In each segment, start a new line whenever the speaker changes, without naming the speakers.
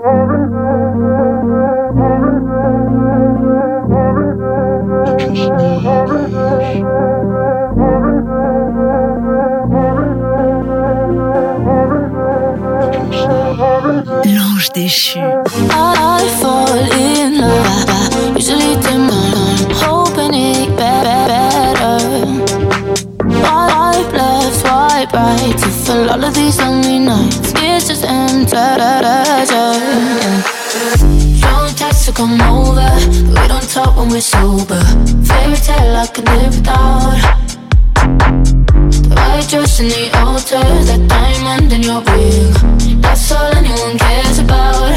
L'ange déchu.
I fall in love. I usually take my time, hoping it better. Swipe left, swipe right to fill all of these lonely nights. It's just empty pleasure. Don't text to come over, but we don't talk when we're sober. Fairy tale I could live without. The white dress in the altar, that diamond in your ring, that's all anyone cares about.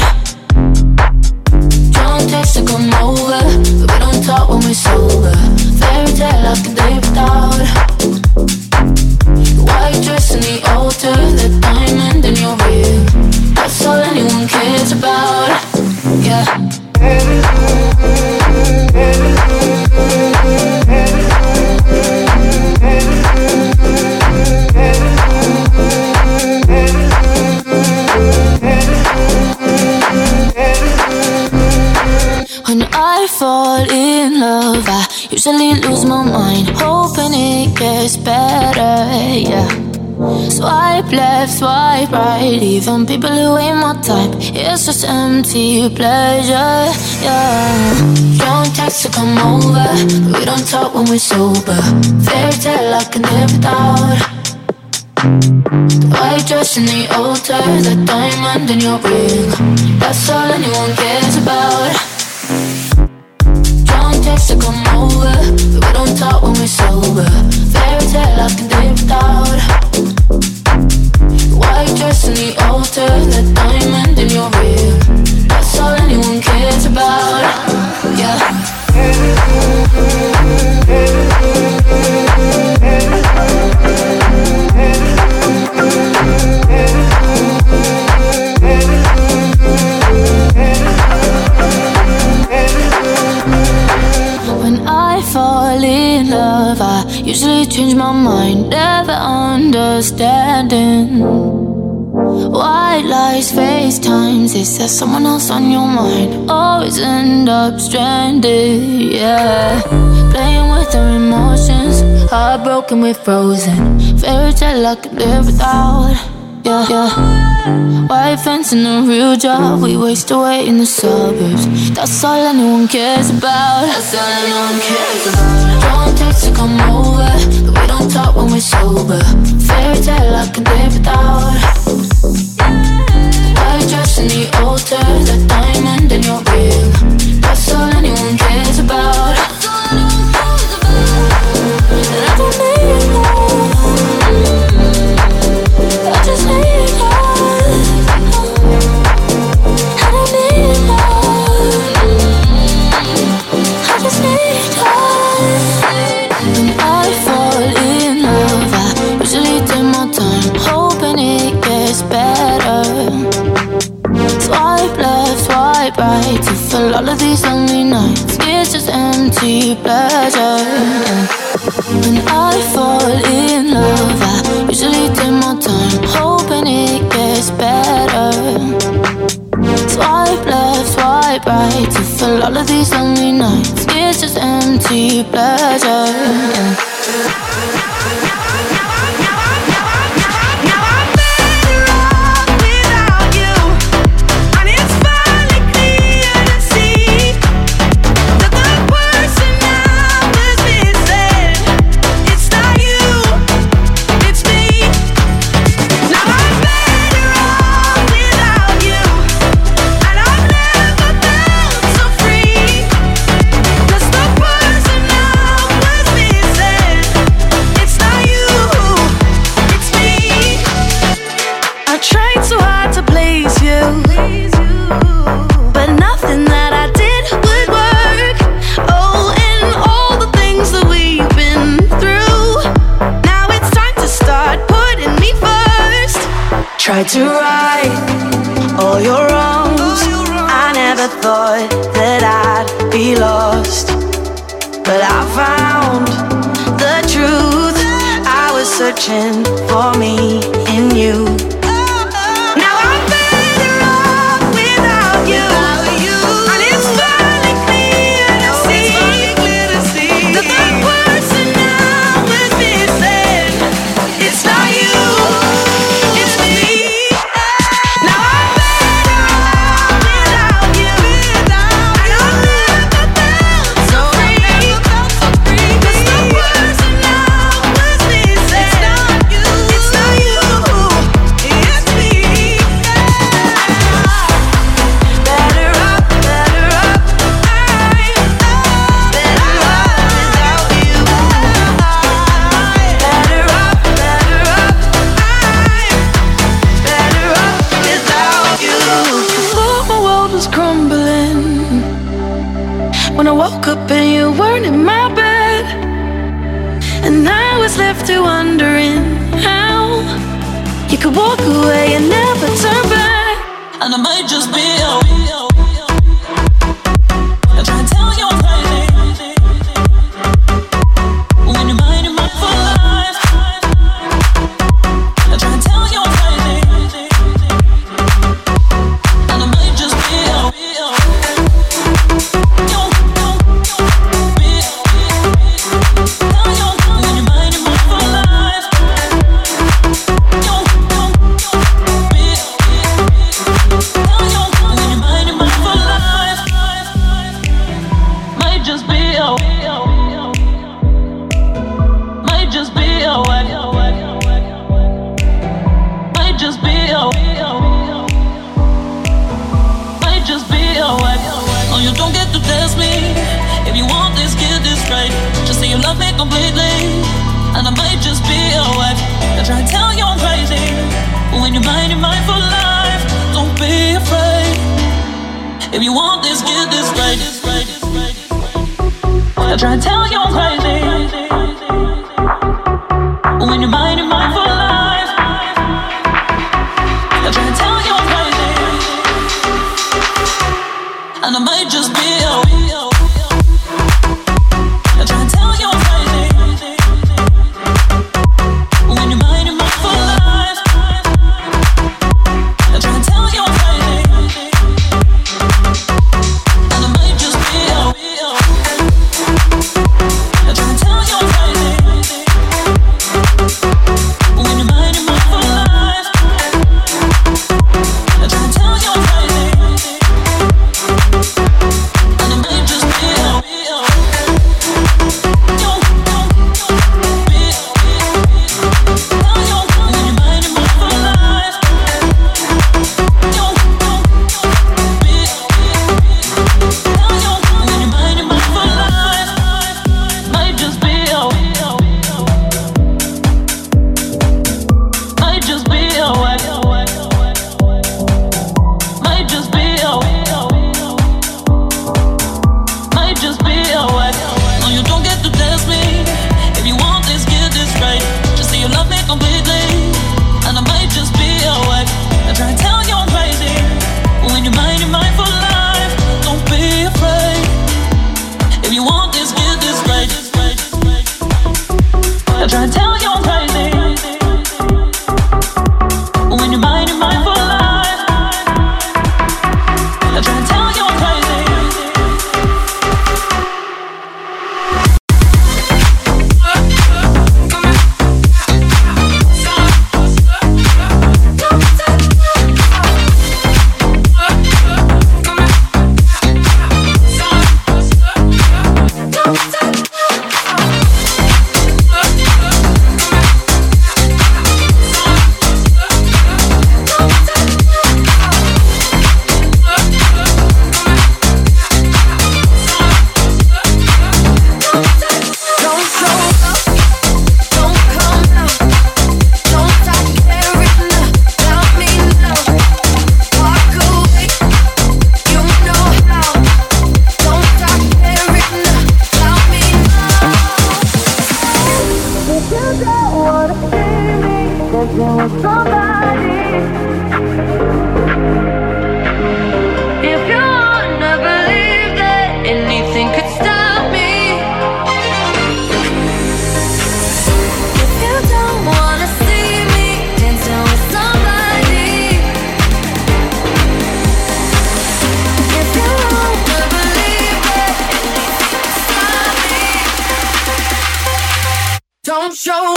Don't text to come over, but we don't talk when we're sober. Fairy tale I could live without. The white dress in the altar, that diamond in your ring, that's all anyone cares about. Yeah. When I fall in love, I usually lose my mind, hoping it gets better, yeah. Swipe left, swipe right, even people who ain't my type, it's just empty pleasure, yeah. Don't text to come over, but we don't talk when we're sober. Fairy tale I can live without. The white dress in the altar, that diamond in your ring, that's all anyone cares about. Don't text to come over, but we don't talk when we're sober. Fairy tale I can live without. The white dress in the altar, that diamond in your ring, that's all anyone cares about. Yeah. When I fall in love, I usually change my mind, never understanding white lies, FaceTimes. Is there someone else on your mind? Always end up stranded, yeah. Playing with our emotions, heartbroken, we're frozen. Fairy tale I could live without, yeah, yeah. White fence and a real job, we waste away in the suburbs. That's all anyone cares about. That's all anyone cares about. Don't text to come over, but we don't talk when we're sober. Fairy tale I could live without. The white dress in the altar, that diamond in your ring, that's all anyone cares about. And I don't need love, I just need love. I don't need love, I just need love. When I fall in love, I usually take my time, hoping it gets better. Swipe left, swipe right to fill all of these lonely nights. It's just empty pleasure, yeah. When I fall in love, I usually take my time, hoping it gets better. Swipe left, swipe right to fill all of these lonely nights. It's just empty pleasure, yeah.
Tried to right all your wrongs. I never thought that I'd be lost, but I found the truth. I was searching for me in you. Now I'm better off without was crumbling when I woke up and you weren't in my bed, and I was left to wondering how you could walk away and never turn back.
And I might just be I try and tell you I'm crazy when you're mine in my full life. I try and tell you I'm crazy, and I might just be when you're mine in my full life. When you're mine in my full life, might just be might just be might just be might just be Oh, you don't get to test me. If you want this, get this right. Just say you love me completely, and I might just be your wife. I try and tell you I'm crazy, but when you're mine in my full life, don't be afraid. If you want this, get this right. I try and tell you I'm crazy, but when you're mine in my full life, I try and tell you I'm crazy, and I might just be I try and tell you I'm crazy, but when you're mine in my full life, I try and tell you I'm crazy, and I might just be I try and tell you I'm crazy, but when you're mine in my full life, I try and tell you I'm crazy, and I might just be
don't show.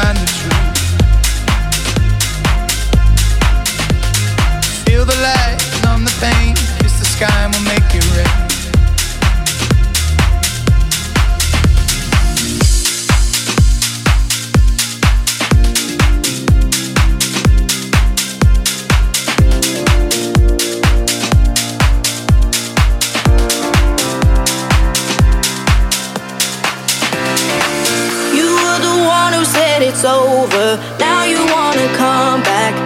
find the truth. Feel the light, numb the pain, kiss the sky and we'll make it rain.
It's over, now you wanna come back.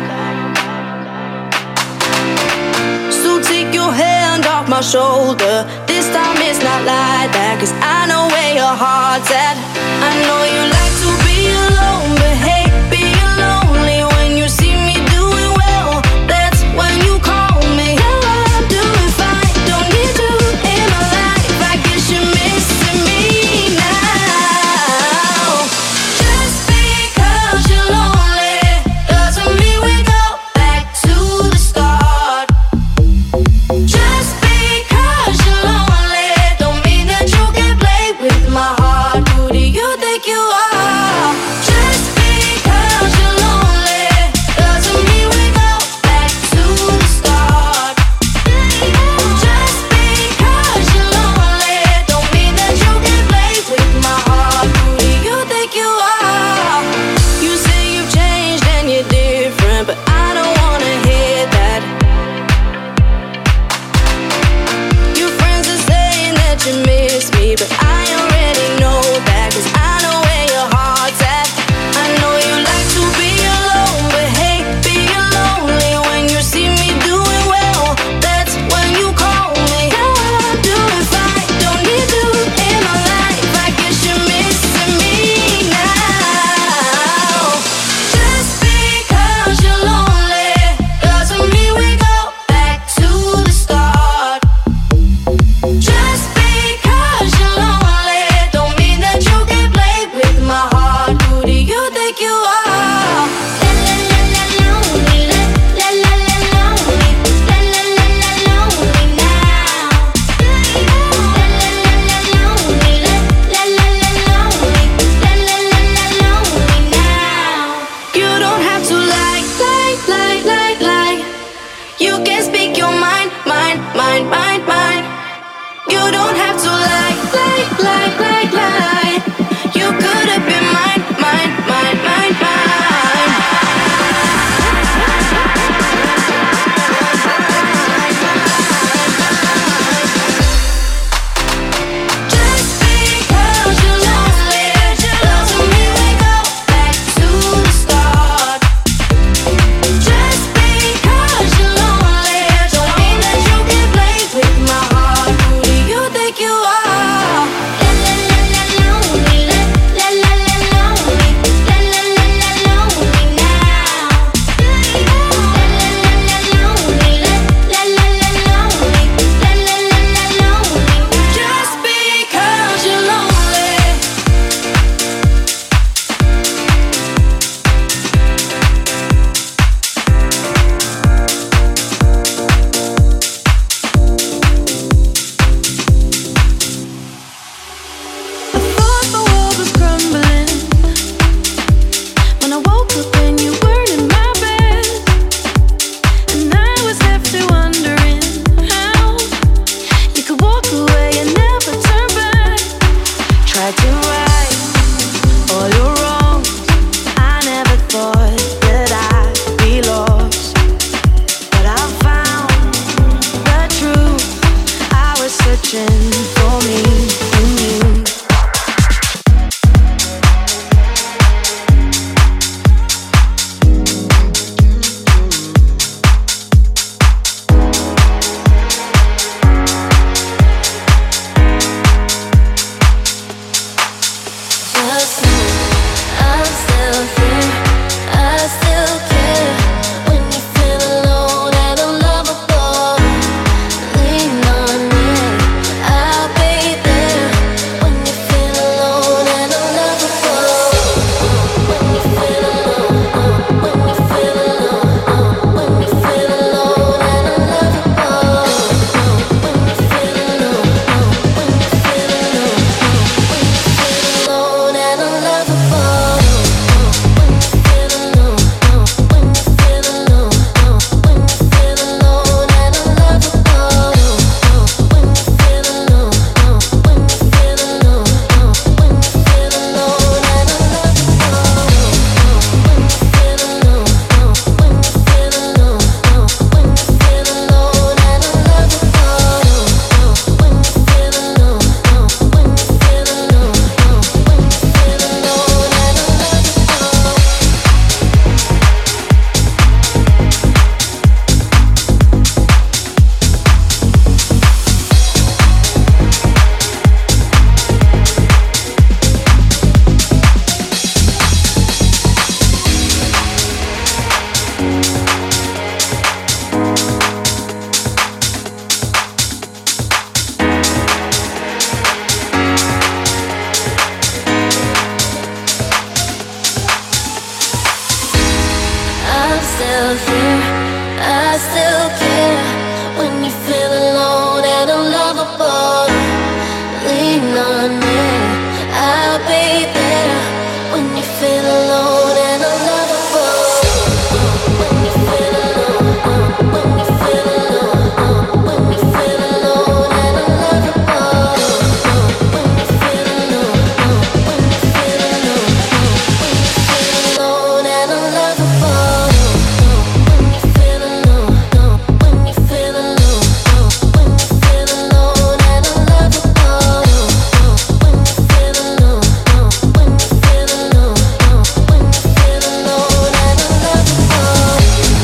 So take your hand off my shoulder. This time it's not like that, 'cause I know where your heart's at. I know you like to be alone, but hey, being lonely when you see me doing well, that's when you call me. Yeah, I'm doing fine, don't need you in my life. I guess you're missing me now. Just because you're lonely doesn't mean we go back to the start. Just because you're lonely don't mean that you can play with my heart. Who do you think you are? Just because you're lonely doesn't mean we go back to the start. Just because you're lonely don't mean that you can play with my heart. Who do you think you are? You say you've changed and you're different, but I don't wanna hear that. Your friends are saying that you miss me, but I already know that, 'cause I know where your heart's at. I know you like to be alone, but hey, being lonely when you see me doing well, that's when you call me. Yeah, I'm doing fine, don't need you in my life. I guess you're missing me now. Just because you're lonely doesn't mean we go back to the start. Just because you're lonely don't mean that you can play with my heart. Who do you think you are? La la la la lonely, la la la la lonely, la la la la lonely now. La la la la lonely, la la la la lonely, la la la la lonely now. You don't have to lie. You can speak your mind. You don't have to lie. You could have been mine.
still here, I still care. When you feel alone and unlovable, lean on me, I'll be there. When you feel alone and unlovable, when you feel alone, when you feel alone, when you feel alone and unlovable, when you feel alone, when you feel alone, when you feel alone and unlovable, when you feel alone, when you feel alone, when you feel alone and unlovable, when you feel alone, when you feel alone, when you feel alone and unlovable.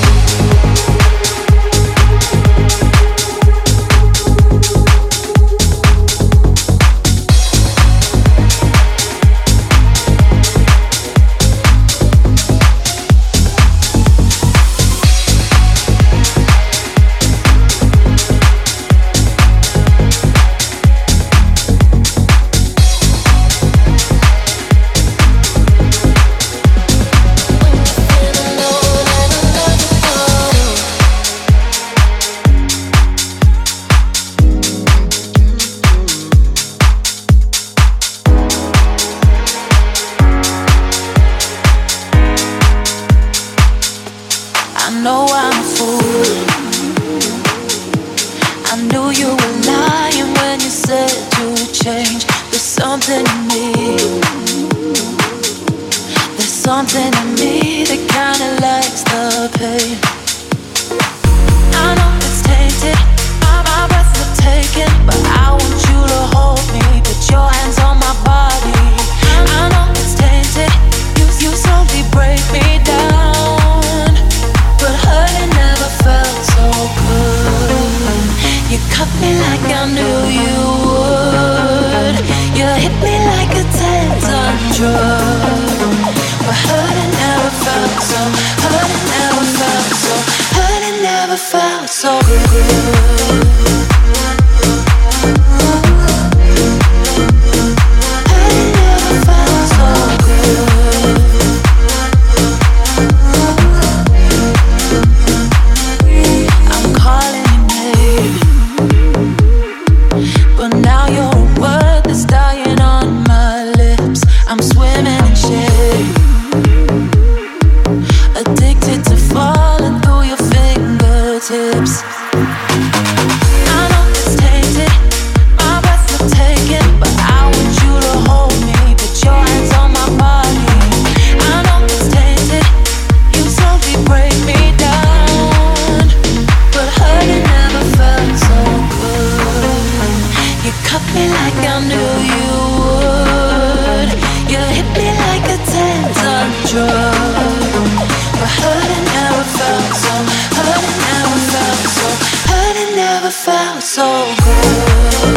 I know I'm a fool. I knew you were lying when you said you'd change. There's something in me. There's something in me that kinda likes the pain. I know it's tainted, my breath will take it, but I want you to hold me, put your hands on my body. I know it's tainted, you slowly break me down, but hurting never felt so good. You cut me like I knew you would. You hit me like a 10-ton drug, but hurting never felt so. Hurting never felt so. Hurting never felt so good. Hurting never felt so good. I'm calling your name, but now you're a word that's dying on my lips. I'm swimming in shame, addicted to falling through your fingertips. I know it's tainted, my breath will take it, but I want you to hold me, put your hands on my body. I know it's tainted, you slowly break me down, but hurting never felt so good. You cut me like I knew you would. You hit me like a 10-ton drug, but hurting never felt so. Hurting never felt so. Hurting never felt so good.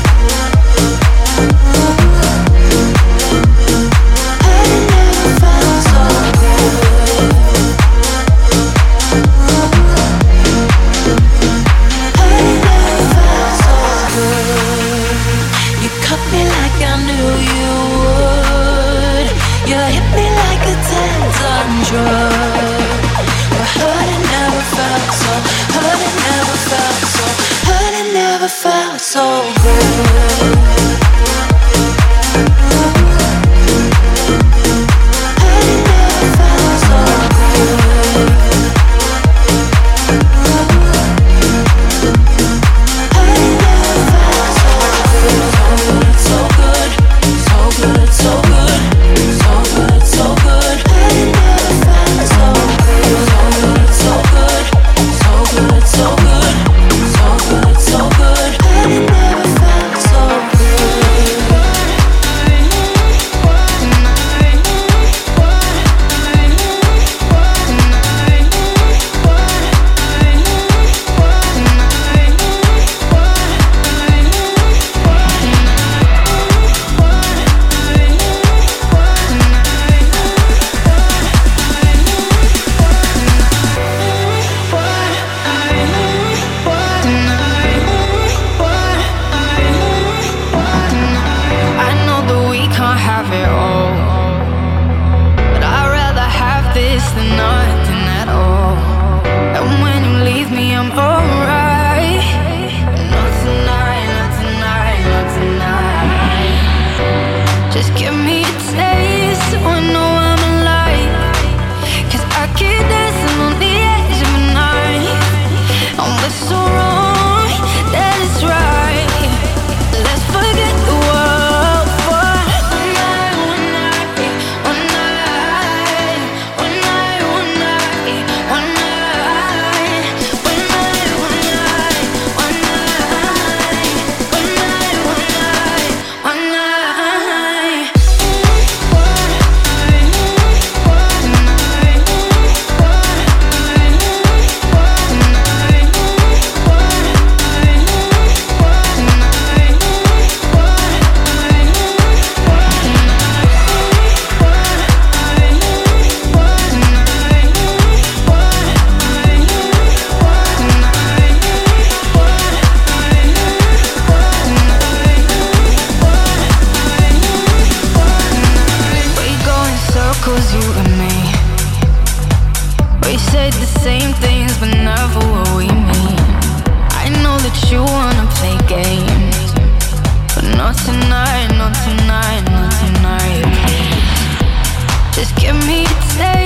Hurting never felt so good. Hurting never felt so good. You cut me like I knew you would. You hit me like a 10-ton drug, but hurting never felt so. Hurting never felt so. Hurting never felt so good. Hurting never felt so good. Hurting never felt so good. So good, so good, so good, so good, so good. Hurting never felt so good. same things, but never what we mean. I know that you wanna play games, but not tonight, not tonight, not tonight, please. Just give me a taste.